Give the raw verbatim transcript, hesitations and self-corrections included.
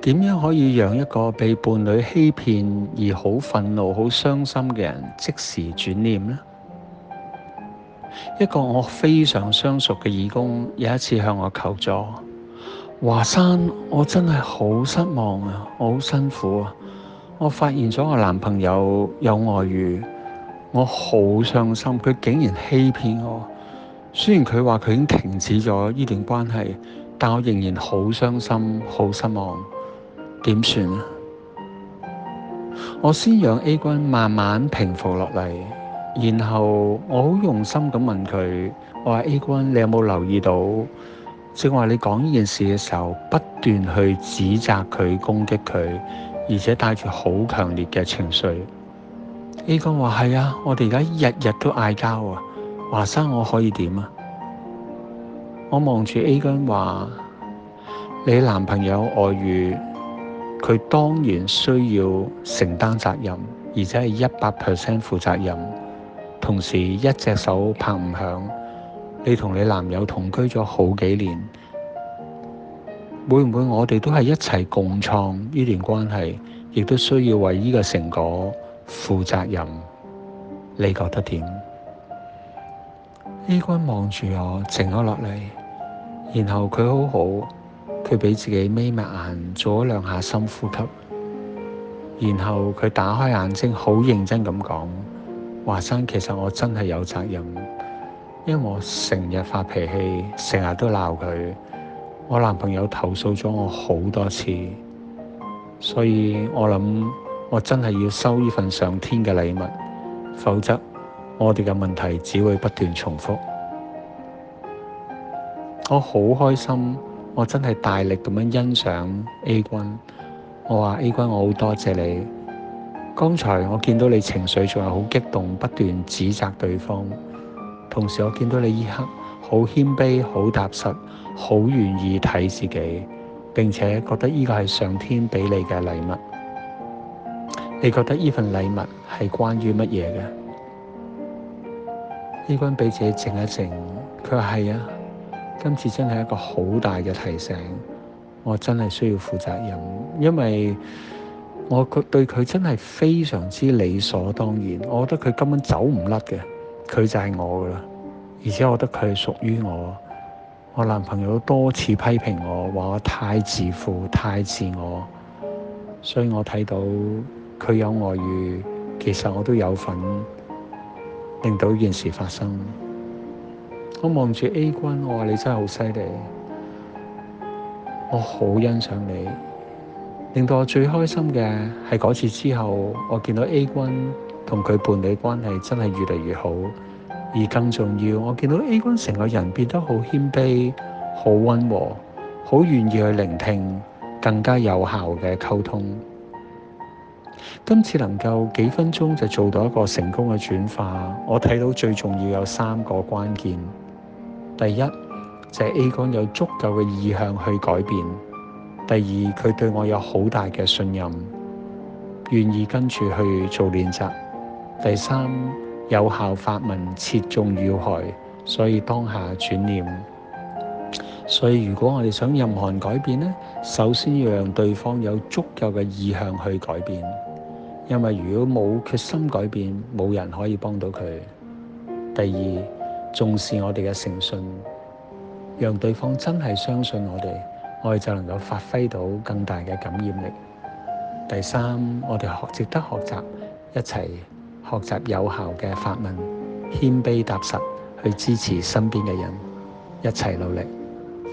點樣可以讓一個被伴侶欺騙而好憤怒、好傷心嘅人即時轉念呢？一個我非常相熟嘅義工有一次向我求助，華山，我真係好失望啊，我好辛苦啊，我發現咗我男朋友有外遇，我好傷心，佢竟然欺騙我。雖然佢話佢已經停止咗呢段關係，但我仍然好傷心、好失望。點算啊？我先讓 A 君慢慢平復落嚟，然後我好用心咁問佢，我話 A 君，你有冇留意到，正話你講呢件事嘅時候，不斷去指責佢、攻擊佢，而且帶住好強烈嘅情緒。A 君話係啊，我哋而家日日都嗌交啊，華山我可以點啊？我望住 A 君話，你男朋友外遇，佢當然需要承擔責任，而且係一百 percent 負責任。同時一隻手拍唔響，你同你男友同居咗好幾年，會唔會我哋都係一齊共創呢段關係，亦都需要為呢個成果負責任？你覺得點？ A 君望住我，靜咗落嚟，然後佢好好。佢俾自己眯埋眼，做咗兩下深呼吸，然後佢打開眼睛，好認真咁講：華山，其實我真係有責任，因為我成日發脾氣，成日都鬧佢。我男朋友投訴咗我好多次，所以我諗我真係要收呢份上天嘅禮物，否則我哋嘅問題只會不斷重複。我好開心。我真係大力咁樣欣賞 A 君，我話 A 君，我好多謝你。剛才我見到你情緒仲係好激動，不斷指責對方，同時我見到你呢刻好謙卑、好踏實、好願意睇自己，並且覺得呢個係上天俾你嘅禮物。你覺得呢份禮物係關於乜嘢嘅？ A 君俾自己靜一靜，佢話係啊。今次真係一個好大嘅提醒，我真係需要負責任，因為我對佢真係非常之理所當然，我覺得佢根本走唔甩嘅，佢就係我噶啦，而且我覺得佢係屬於我。我男朋友多次批評我，話我太自負、太自我，所以我睇到佢有外遇，其實我都有份令到呢件事發生。我望住 A 君，我話你真係好犀利，我好欣賞你。令到我最開心嘅係嗰次之後，我見到 A 君同佢伴侶關係真係越嚟越好，而更重要，我見到 A 君成個人變得好謙卑、好溫和、好願意去聆聽，更加有效嘅溝通。今次能夠幾分鐘就做到一個成功嘅轉化，我睇到最重要有三個關鍵。第一就係 A 君有足夠嘅意向去改變；第二，佢對我有好大嘅信任，願意跟住去做練習；第三，有效發問，切中要害，所以當下轉念。所以如果我哋想任何人改變呢，首先要讓對方有足夠嘅意向去改變，因為如果冇決心改變，冇人可以幫到佢。第二，重視我哋嘅誠信，讓對方真係相信我哋，我哋就能夠發揮到更大嘅感染力。第三，我哋學值得學習，一齊學習有效嘅發問，謙卑踏實去支持身邊嘅人，一齊努力。